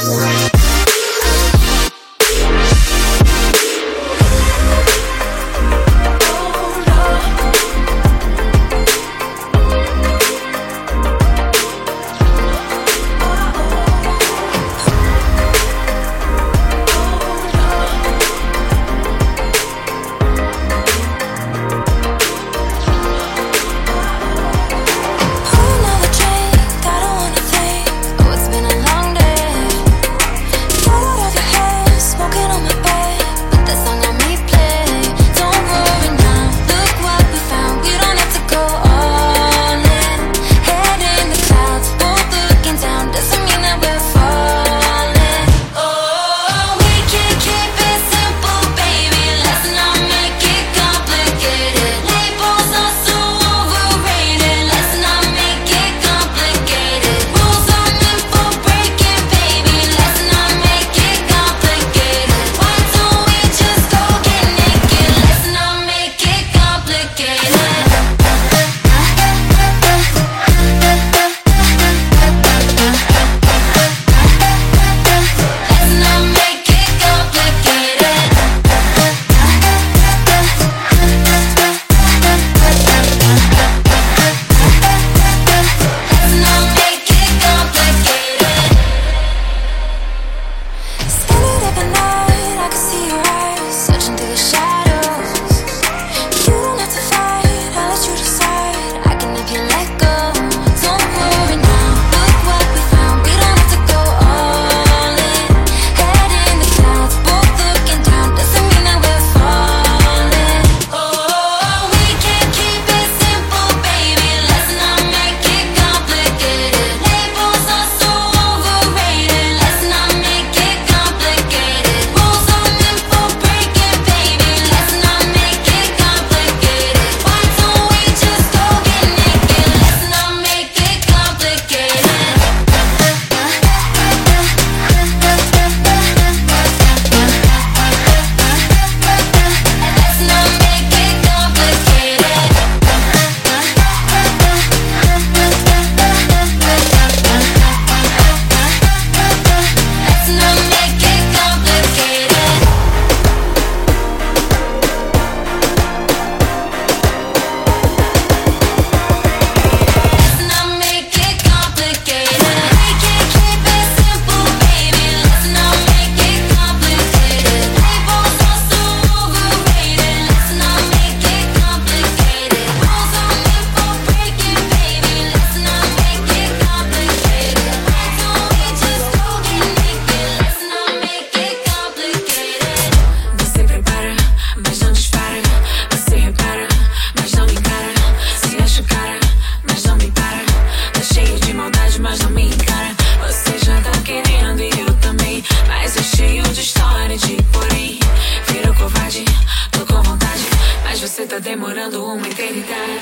tá demorando uma eternidade.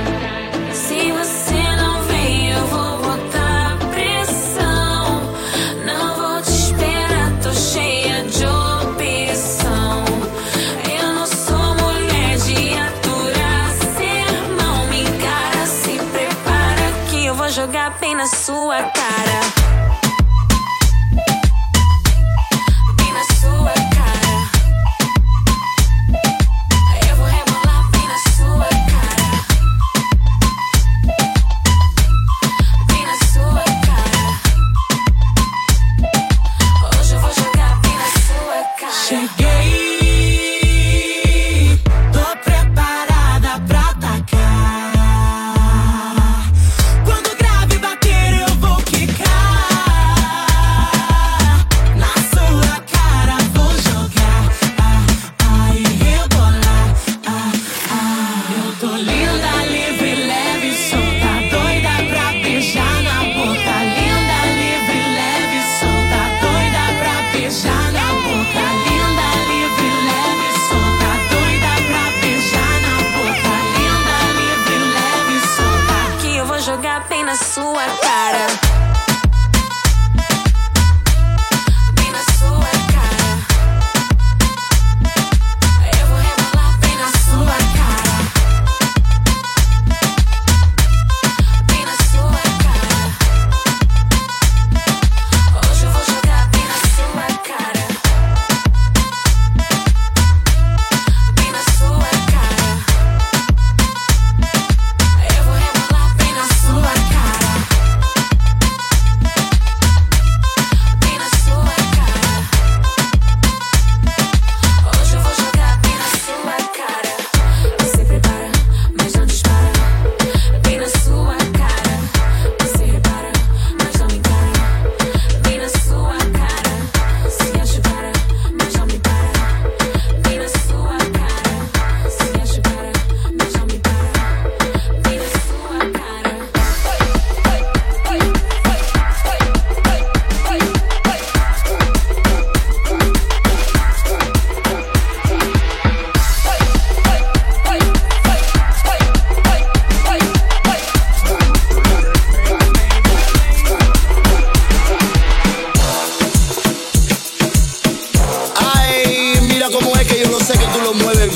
Se você não vem, eu vou botar pressão. Não vou te esperar, tô cheia de opção. Eu não sou mulher de aturar sermão. Me encara, se prepara que eu vou jogar bem na sua cara. Quando o grave bater eu vou quicar.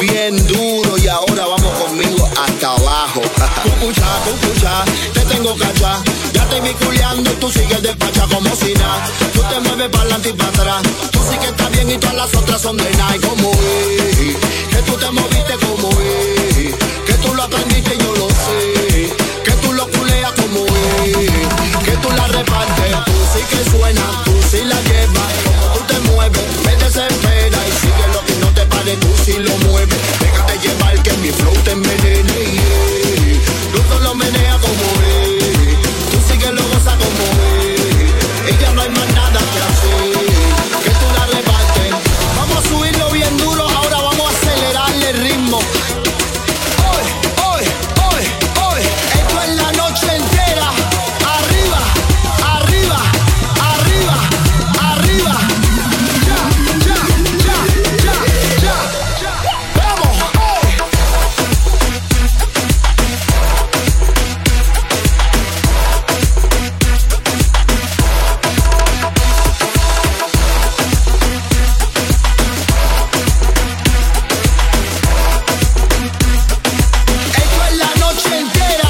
bien duro y ahora vamos conmigo hasta abajo. Cucucha, cucucha, te tengo cacha. Ya te vi culiando y tú sigues despacha como si nada. Tú te mueves para adelante y para atrás. Tú sí que estás bien y todas las otras son de nada. Como es, que tú te moviste como es, que tú lo aprendiste y yo lo sé, que tú lo culeas como es, que tú la repartes. Tú sí que suenas, tú sí la llevas. Como tú te mueves, me desespera y sigue lo que no te pare, tú sí lo mueves. Déjate llevar que mi flow te envenene, yeah. Tú solo menea como es, tú sí que lo gozas como es. Ella no hay más nada que hacer, que tú la repartes. Vamos a subirlo bien duro, ahora vamos a acelerarle el ritmo. Hoy, hoy, hoy, hoy, esto es la noche entera. Arriba, arriba, arriba, arriba. Ya, ya, ya, ya, ya, ya. Vamos, hoy. Esto es la noche entera.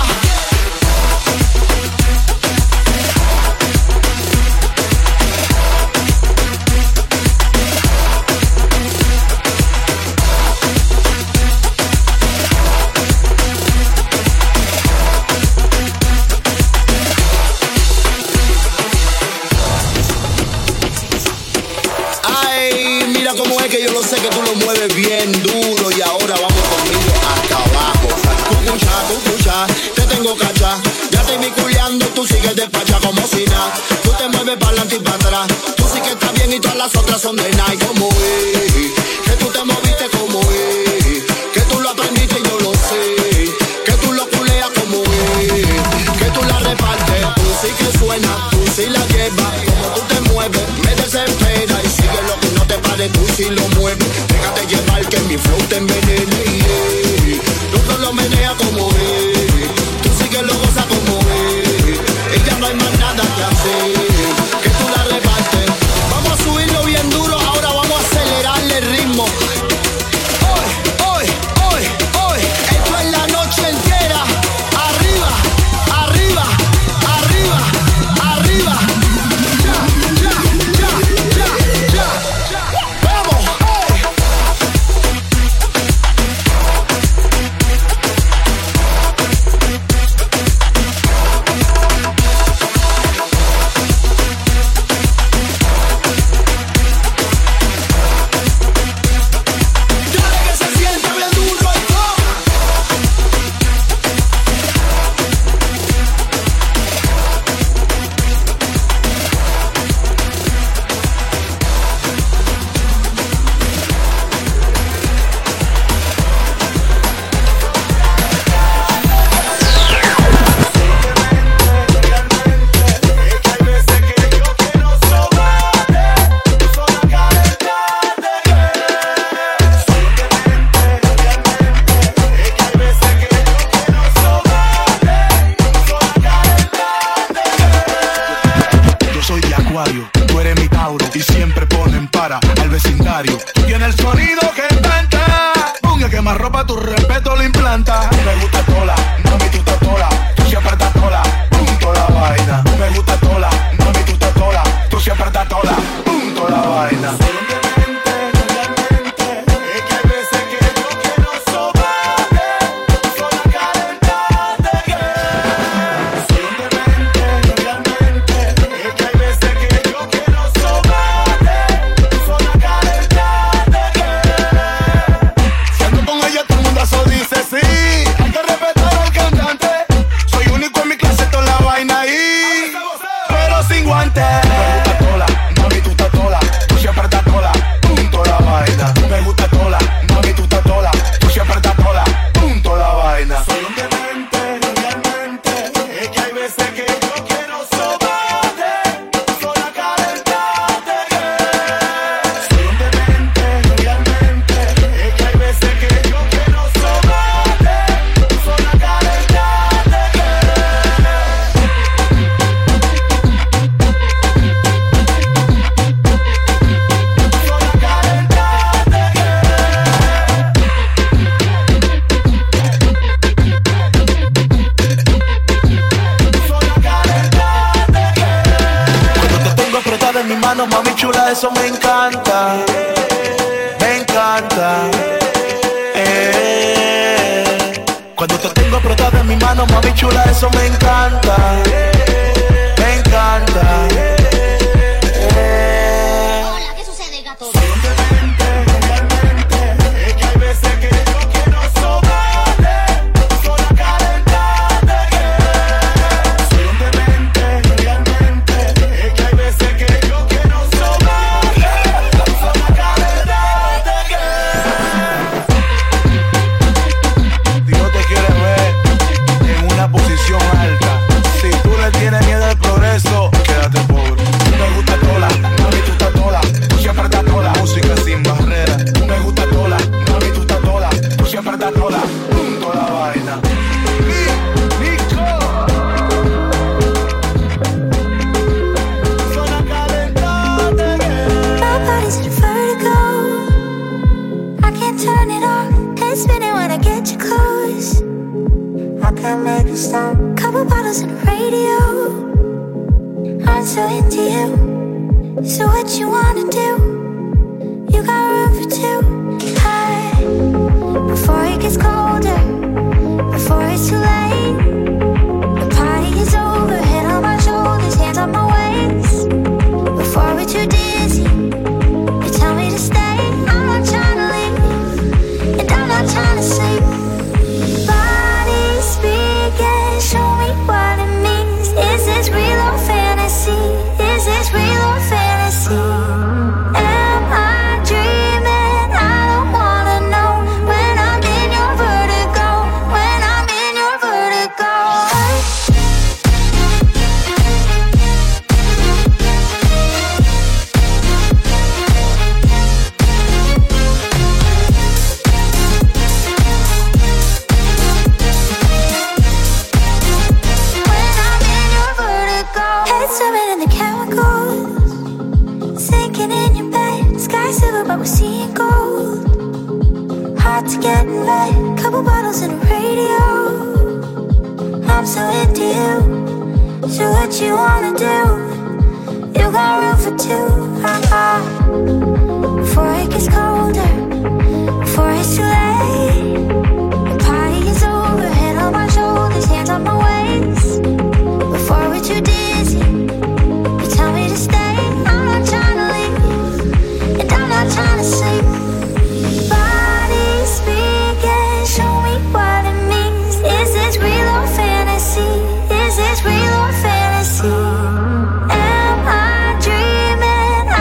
Ay, mira cómo es que yo lo sé que tú lo mueves bien duro y ahora vamos conmigo hasta abajo. Cucucha, cucucha, te tengo cacha. Ya te vi culeando, tú sigues despacha como si nada. Tú te mueves para adelante y para atrás. Tú sí que estás bien y todas las otras son de nada. Como es, que tú te moviste como es, que tú lo aprendiste y yo lo sé, que tú lo culeas como es, que tú la repartes. Tú sí que suenas, tú sí la llevas. Como tú te mueves, me desespera y sigue lo que no te pare, tú sí lo mueves. Déjate llevar que mi flow te envenene, yeah. Tú solo menea como es, tú sí que lo gozas como es. Ella no hay más nada que hacer, que tú la repartes. Vamos a subirlo bien duro, ahora vamos a acelerarle el ritmo. Hoy, hoy, hoy, hoy, esto es la noche entera. Arriba, arriba, arriba, arriba. Ya, ya, ya, ya, ya, ya. Vamos, hoy. Dale que se siente bien duro y todo. Yo soy de Acuario, tú eres mi Tauro y siempre ponen para al vecindario. Tú tienes el sonido que encanta, un que más ropa tu respeto lo implanta. Me gusta tola, mami tú estás tola, tú siempre estás tola, punto la vaina. Me gusta tola, mami tú estás tola, tú siempre estás tola, punto la vaina. Sin guantes. Me gusta tola, mami tú estás tola, tú siempre estás chula, eso me encanta. Me encanta. Cuando te tengo apretada en mi mano, mami chula, eso me encanta. Me encanta. Hola, ¿qué sucede, gato? Couple bottles and a radio. I'm so into you. So what you wanna do? You got room for two. Hey, before it gets colder, before it's too late, the party is over. Head on my shoulders, hands on my waist. Before we're too dizzy, you tell me to stay. I'm not trying to leave, and I'm not trying to sleep. Show me what it means. Is this real or fantasy? Is this real or fantasy? Am I dreaming? I don't wanna know. When I'm in your vertigo, when I'm in your vertigo. Swimming in the chemicals, sinking in your bed. Sky silver, but we're seeing gold. Hard to get in bed. Couple bottles and a radio. I'm so into you. So what you wanna do? You got room for two. Before it gets colder, before it's too late, the party is over. Head on my shoulders, hands on my waist. Before we're too dizzy, you tell me to stay. I'm not trying to leave, and I'm not trying to sleep. Body speaking, show me what it means. Is this real or fantasy? Is this real or fantasy? Am I dreaming? I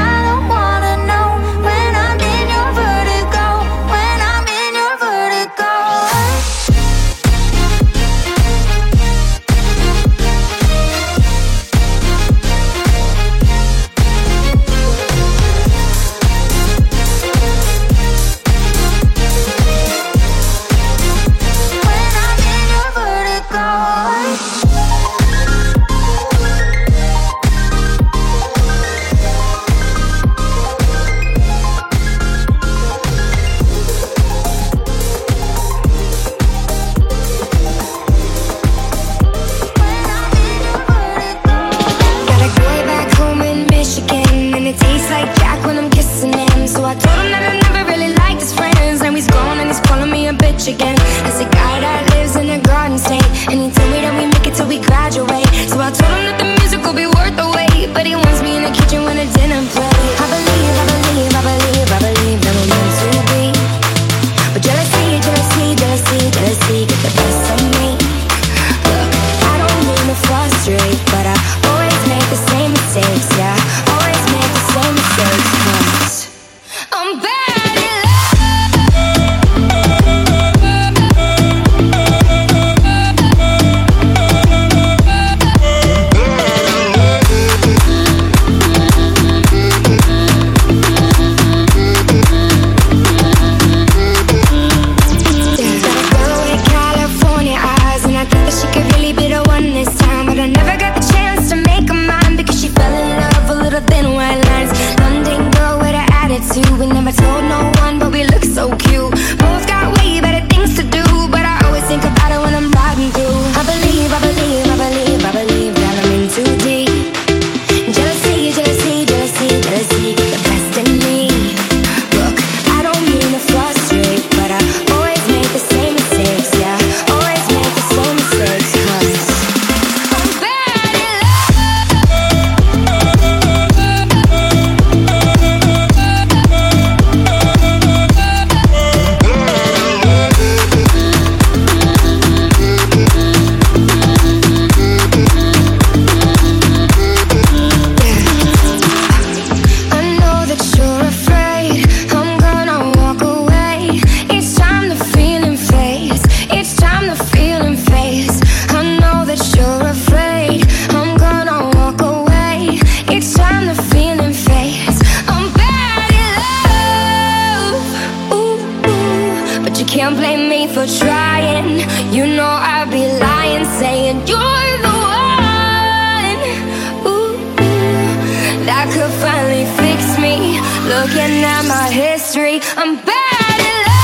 for trying. You know I'd be lying, saying you're the one. Ooh, that could finally fix me. Looking at my history, I'm bad at love.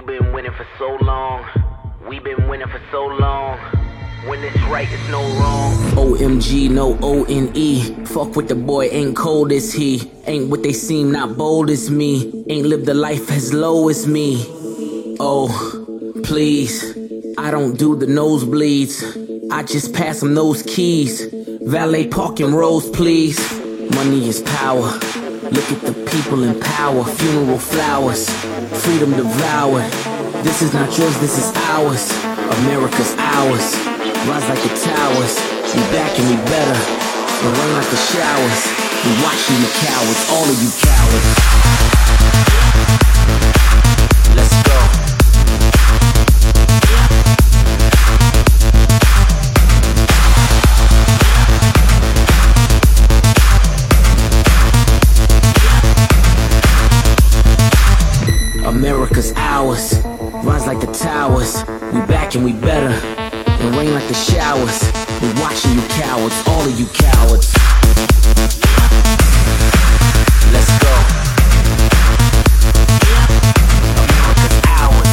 You've been winning for so long. We've been winning for so long. When it's right, it's no wrong. OMG, no O-N-E. Fuck with the boy, ain't cold as he. Ain't what they seem, not bold as me. Ain't lived a life as low as me. Oh, please, I don't do the nosebleeds. I just pass them those keys. Valet parking rows, please. Money is power. Look at the people in power. Funeral flowers. Freedom devoured. This is not yours, this is ours. America's ours. Rise like the towers. We back and we better. We run like the showers. We watching you cowards. All of you cowards. Let's go. America's ours, rise like the towers. We back and we better, and rain like the showers. We watching you cowards, all of you cowards. Let's go. America's ours.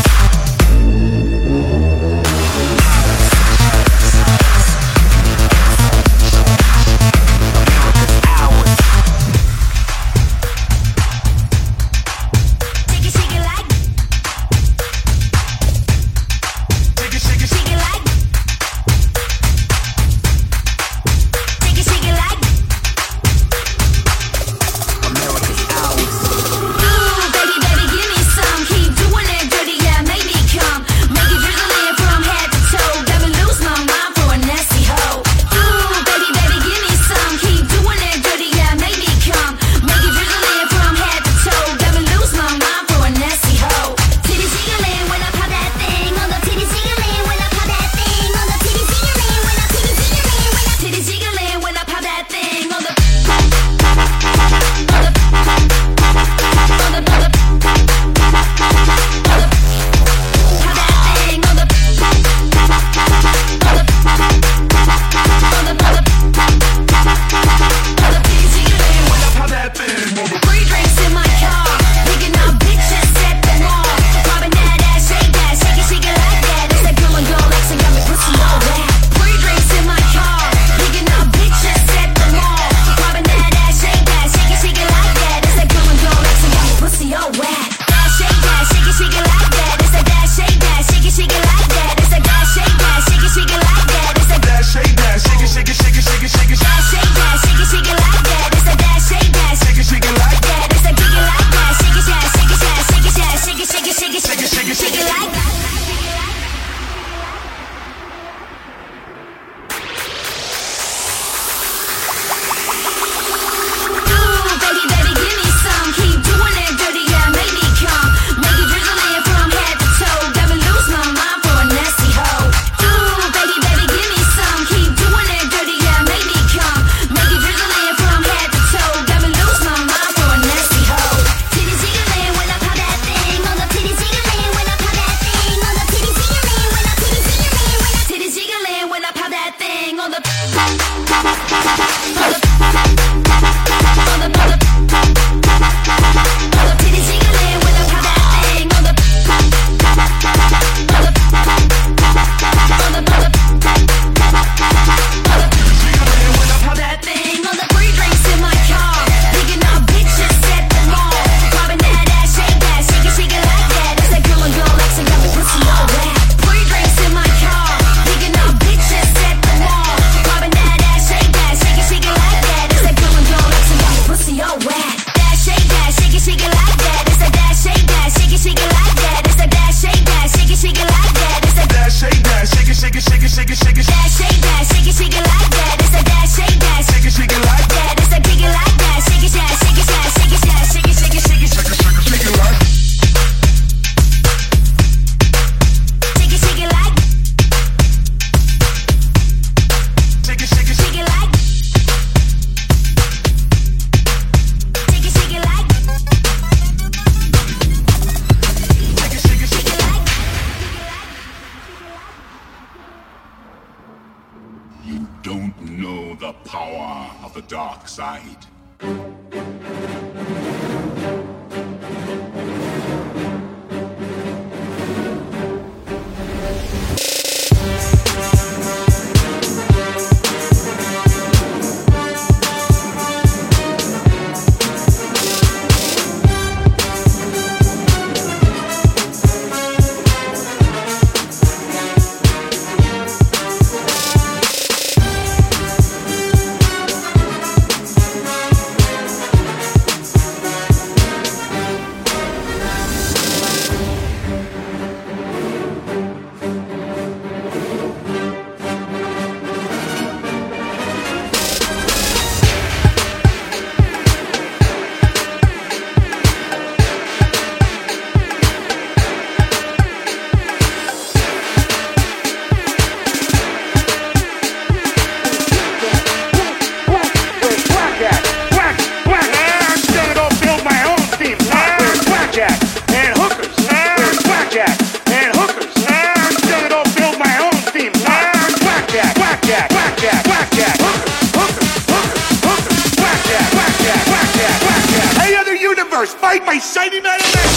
shiny man in there.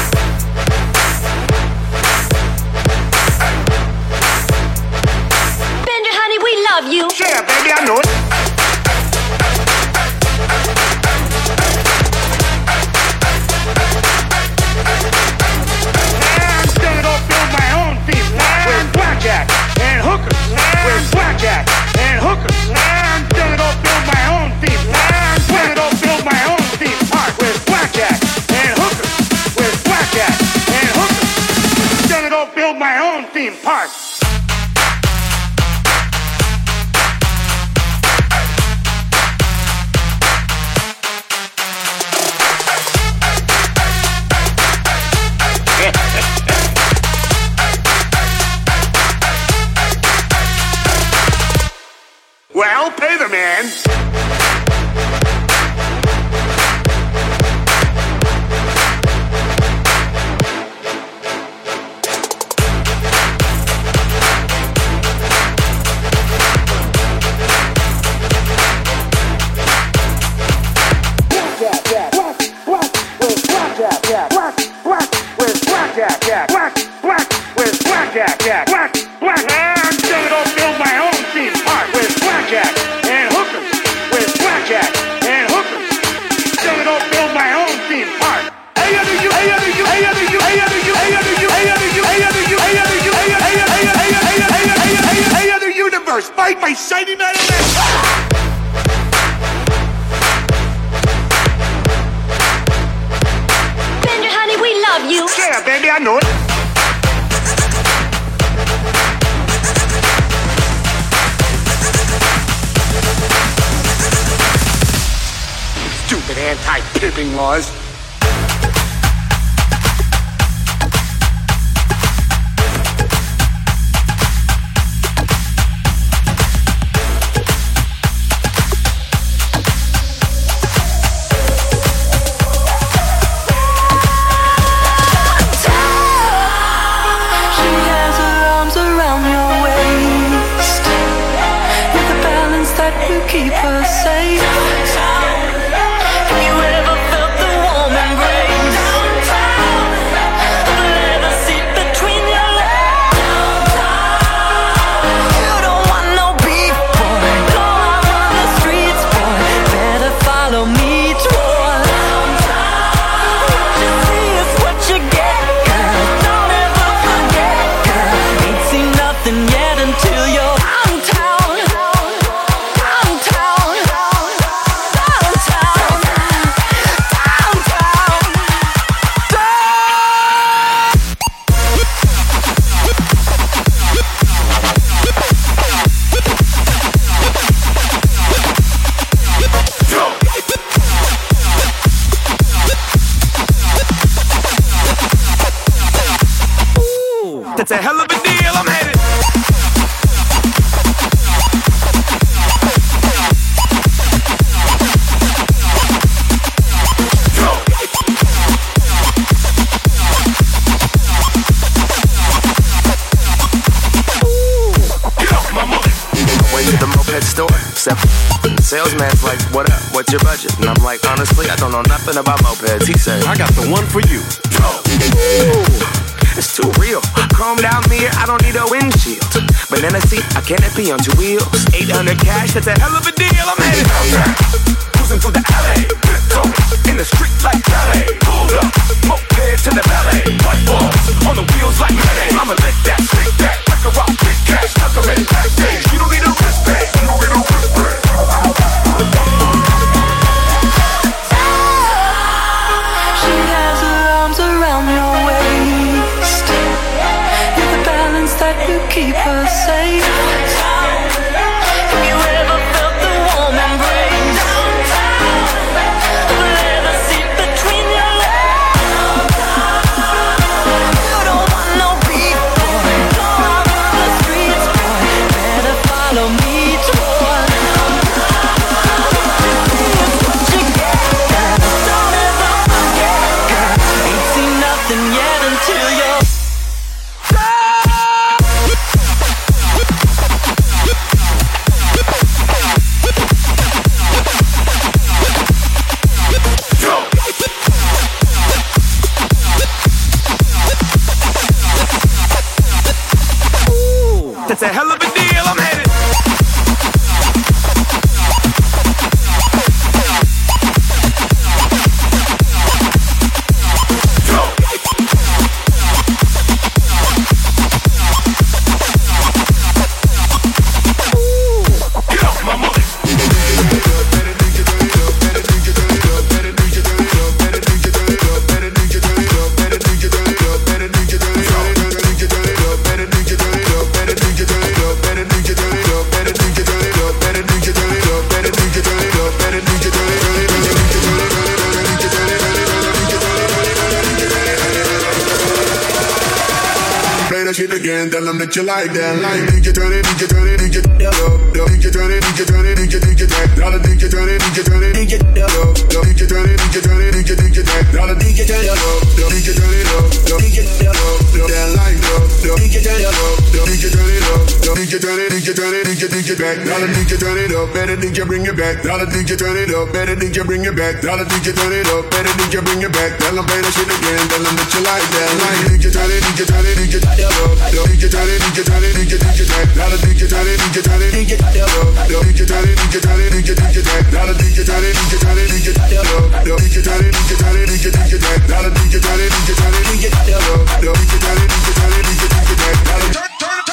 Bender, honey, we love you. Yeah, baby, I know it. I'm gonna go build my own theme park with blackjack and hookers. With blackjack and hookers. I'm gonna go build my own theme park. I'm gonna go build my own theme park with blackjack and hookers. With blackjack and hookers. I'm gonna go build my own theme park. Well, pay the man. Fight by shiny man in there. Bender, honey, we love you. Yeah, baby, I know it. Stupid anti-pimping laws. Keep her safe. Have you ever felt the warm embrace? The leather seat between your legs. You don't want no beef, boy. Go out on the streets, boy. Better follow me toward. What you see is what you get, girl. Don't ever forget, girl. Ain't seen nothing yet until you're downtown. That's a hell of a deal, I'm headed. Way to the moped store, except the salesman's like, what up, what's your budget? And I'm like, honestly, I don't know nothing about mopeds. He said, I got the one for you. It's too real. Chromed out mirror, I don't need a windshield. Banana seat, a canopy on 2 wheels. 800 cash, that's a hell of a deal. I'm headed cruising through the alley. In the street like ballet. Hold up, moped to the ballet. White balls on the wheels like Mayday. I'ma lick that, stick that, wreck a rock, big cash, tuck 'em in backstage. You don't need a wristband, you don't need a wristband. She has her arms around your waist. You're the balance that will keep her safe. Have you ever felt the warm embrace? The leather seat between your legs. You don't want no beef, boy. Go out on the streets, boy. Better follow me toward. What you get, girl. Don't ever forget, girl. Ain't seen nothing yet until you're That's a hell of a deal, I'm headed. Shit again, tell them that you like that. Like DJ turn it, DJ turn it, DJ DJ turn it, DJ turn it, DJ DJ tech. Dollar DJ turn it, DJ turn it, DJ DJ turn it, DJ turn it, DJ DJ tech. Dollar DJ turn it up, DJ turn it up, DJ that like DJ turn it up, DJ turn it up, DJ turn it, DJ turn it, DJ DJ back. Dollar DJ turn it up, better DJ bring it back. Dollar DJ turn it up, better DJ bring it back. Dollar DJ turn it up, better DJ bring it back. Tell them play that shit again, tell them that you like that. Like DJ turn it, DJ turn it, DJ DJ turn it, DJ turn it, DJ DJ tech. Dollar DJ turn it, DJ turn it, DJ DJ turn it, DJ turn it, DJ DJ tech. Dollar DJ turn it, DJ turn it, DJ DJ turn it, DJ turn it, DJ DJ tech. Dollar DJ turn it, DJ turn it, DJ DJ turn it, DJ turn it, DJ DJ tech.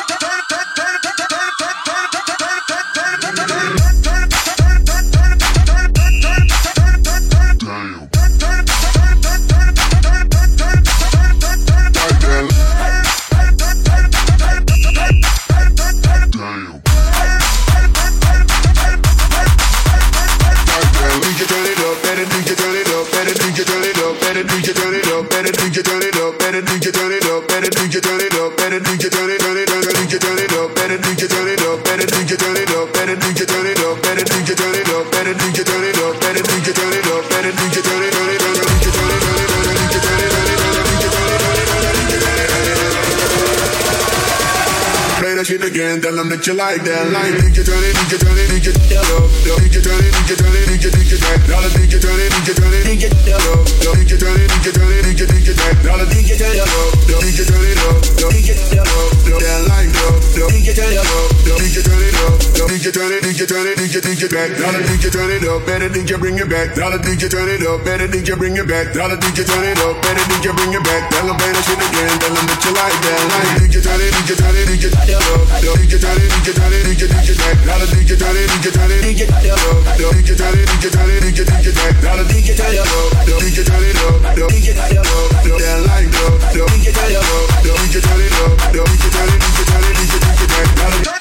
Again, tell them that you like that. Like DJ turn it, DJ turn it, DJ DJ turn it, DJ turn it, DJ DJ tech. Dollar DJ turn it, DJ turn it, DJ DJ turn it, DJ turn it, DJ DJ tech. Dollar DJ turn it up, DJ turn it up, DJ that like DJ turn it up, DJ turn it up, DJ turn it, DJ turn it, DJ DJ tech. Dollar DJ turn it up, better DJ bring it back. Dollar DJ turn it up, better DJ bring it back. Dollar DJ turn it up, better DJ bring it back. Tell them play that shit again, tell them that you like that. Like DJ turn it, DJ turn it, DJ DJ turn it, DJ turn it, DJ DJ tech. Dollar DJ turn it, DJ turn it, DJ DJ turn it, DJ turn it, DJ DJ tech. Dollar DJ turn it up, DJ turn it up, DJ that like DJ turn it up, DJ turn it up, DJ turn it, DJ turn it, DJ DJ tech. Dollar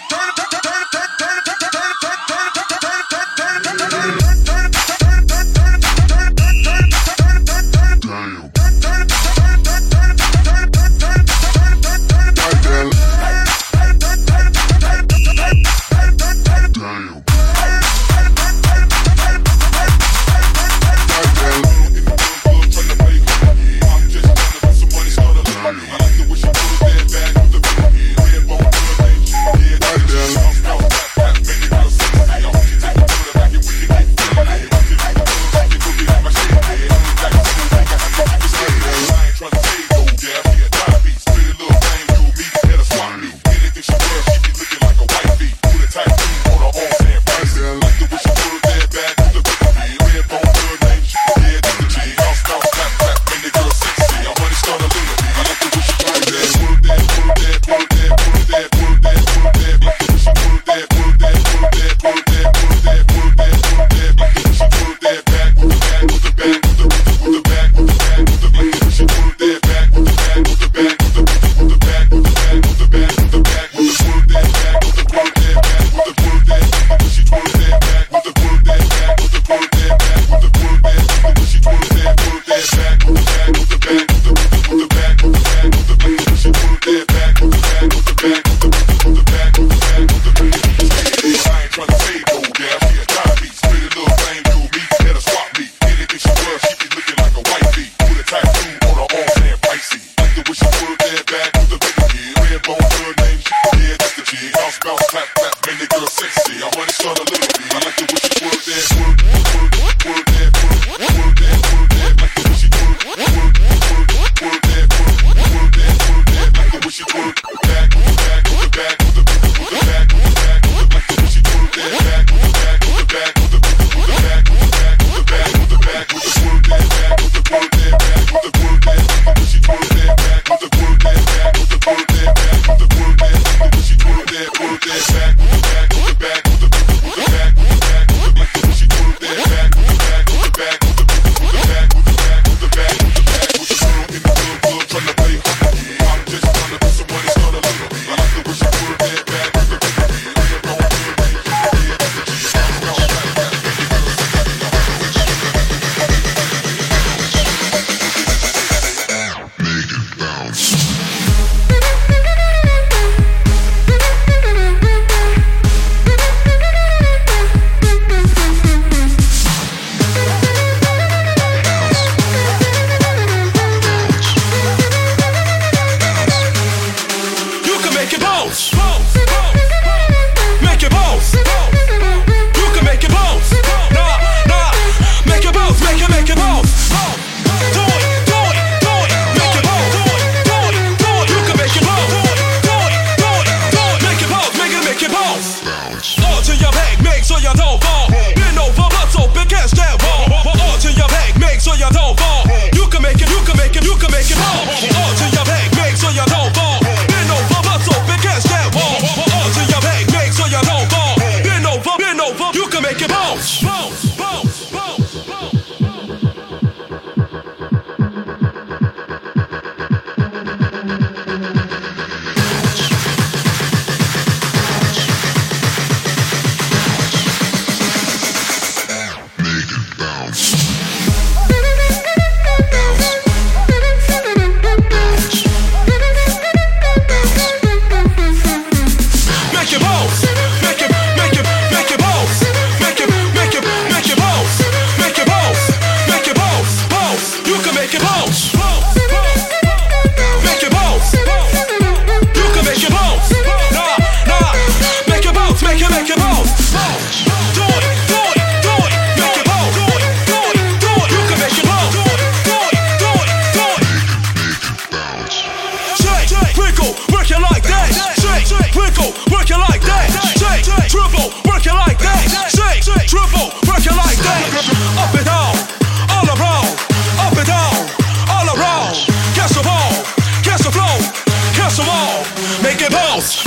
Make it bounce.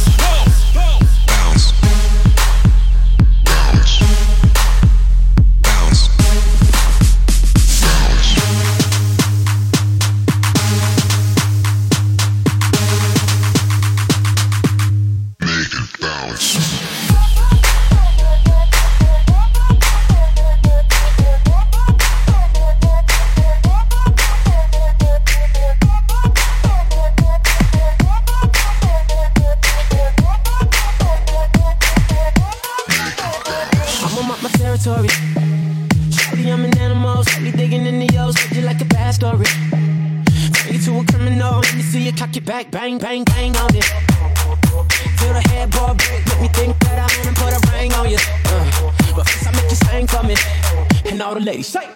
Shawty, I'm an animal, slowly digging in the O's, you like a bad story. Turn you to a criminal, let me see you cock it back, bang, bang, bang on it. Feel the headboard break, make me think that I wanna put a ring on you. But first I make you sing for me, and all the ladies say.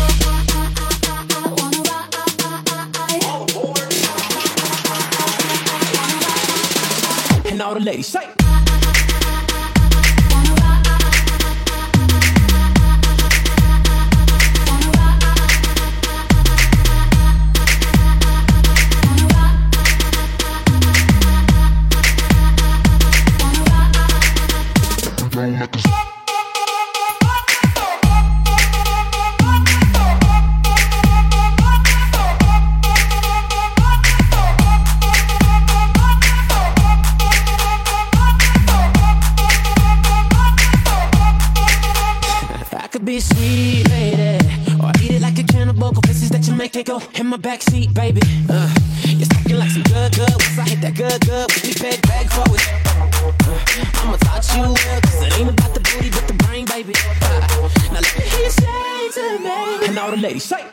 And all the ladies say. Be a sweet lady, or eat it like a cannibal. Go places that you make it go in my backseat, baby. You're talking like some good. Once I hit that good, we be bag forward. I'ma touch you well, cause it ain't about the booty but the brain, baby. Now let me hear you say to me, and all the ladies say.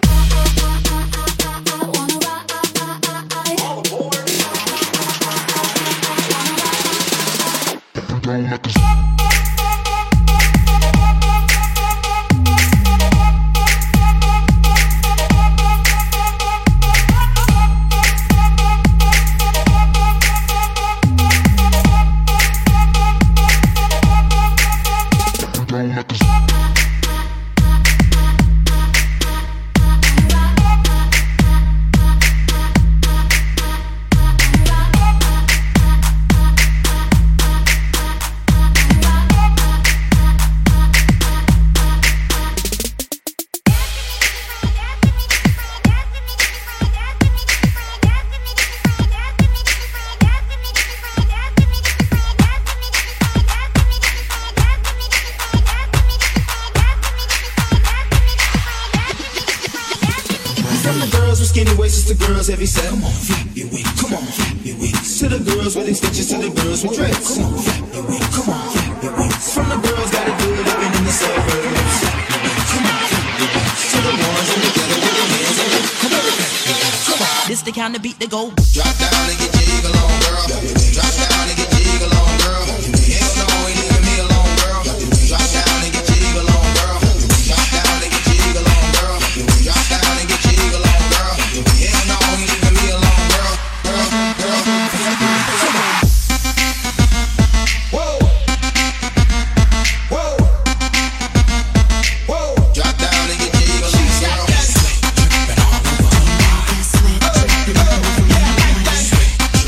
Heavy set, come on, flap your wings, come on, flap your wings. To the girls with extensions, to the girls with dreads, come on, flap your wings, come on, flap your wings. From the girls, gotta do it, living in the suburbs, flap your wings, come on, flap your wings. To the ones in the ghetto with their hands up, come on, come on. This the kind of beat that go. Drop down and get jiggle on, girl. Drop down and get jiggle on, girl. Hell no, ain't leaving me alone, girl. Drop down and get jiggle on, girl. Drop down and get jiggle on, girl. Drop down and get jiggle on, girl. Hell no, ain't leaving me alone, girl. Whoa. Whoa. Whoa. Drop down and get jiggle on, girl.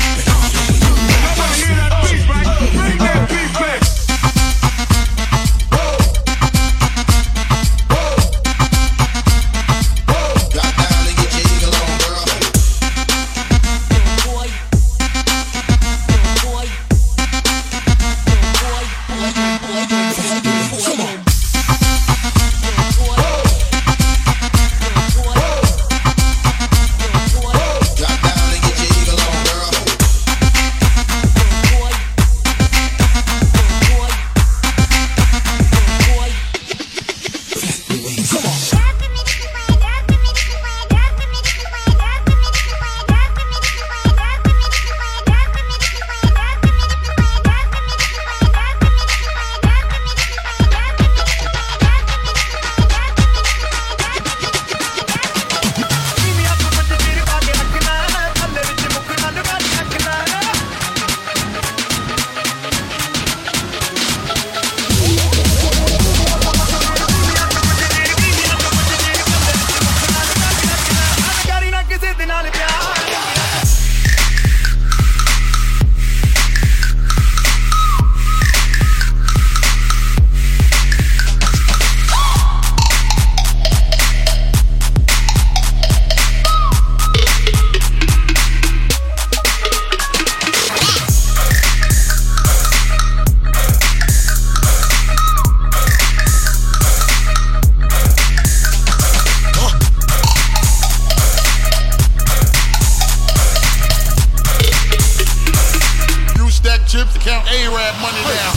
chips to count A-Rap money down.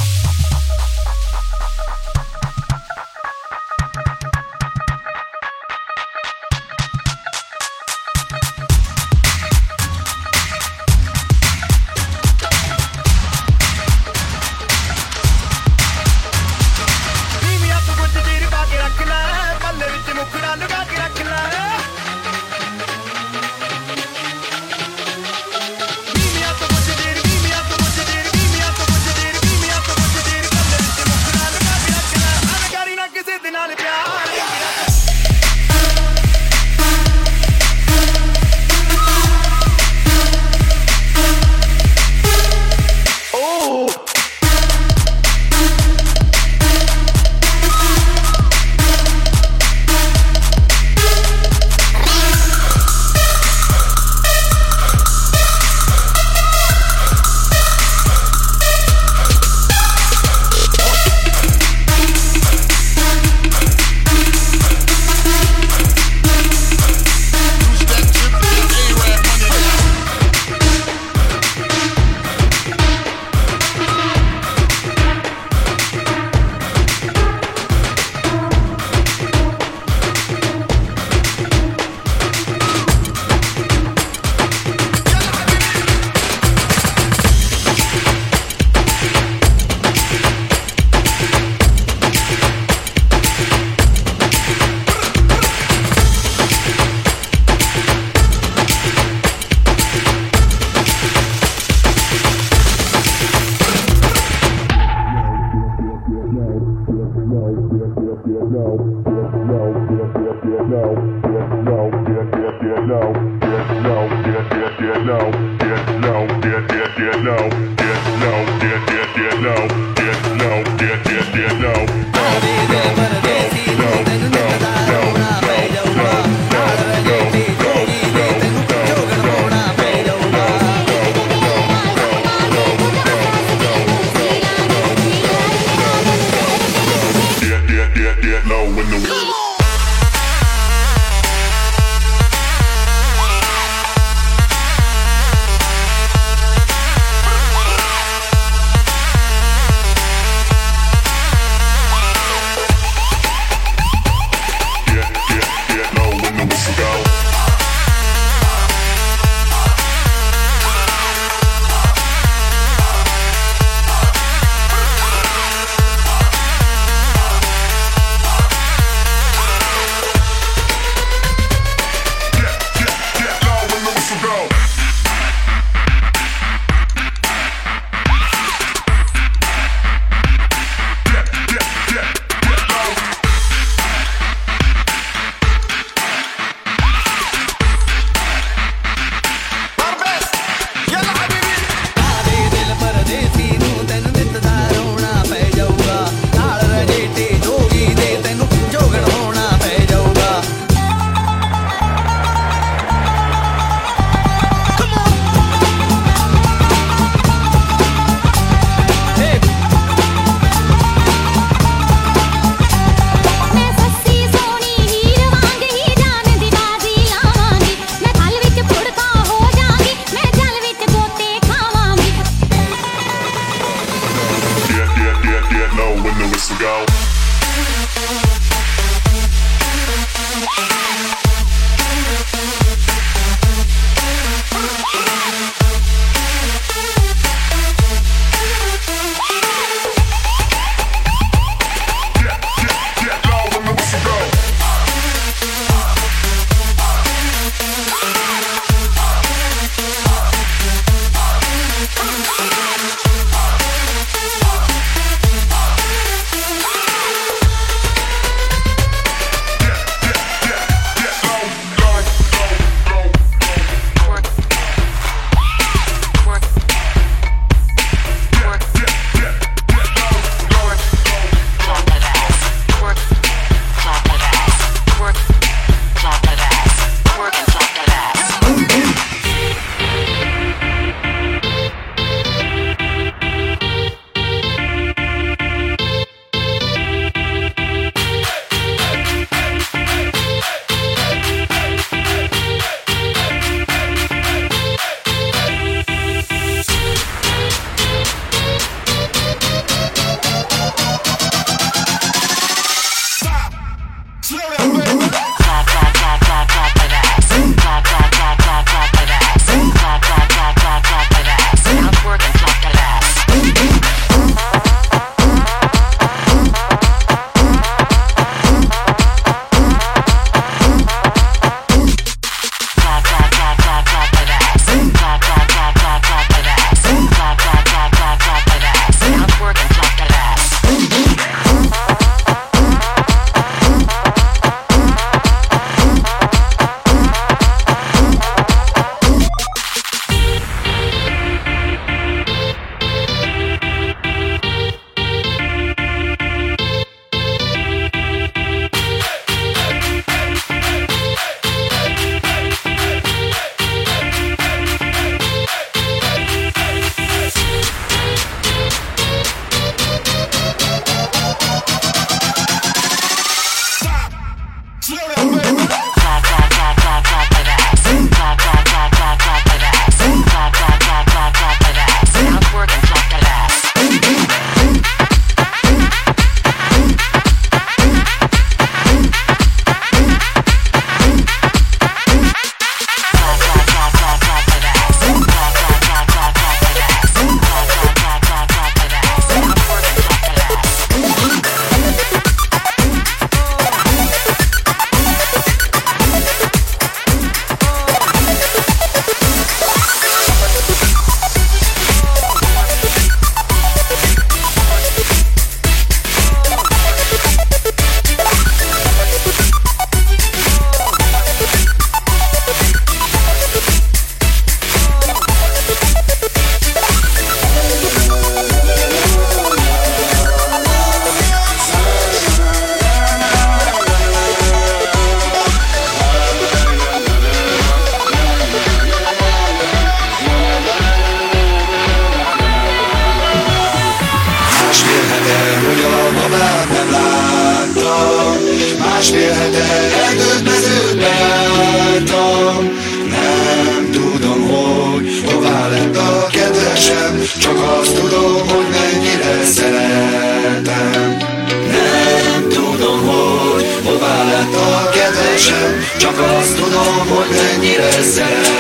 csak azt tudom, hogy mennyire szeretem. Nem tudom, hogy hová lett a kedvesem, csak azt tudom, hogy mennyire szeretem.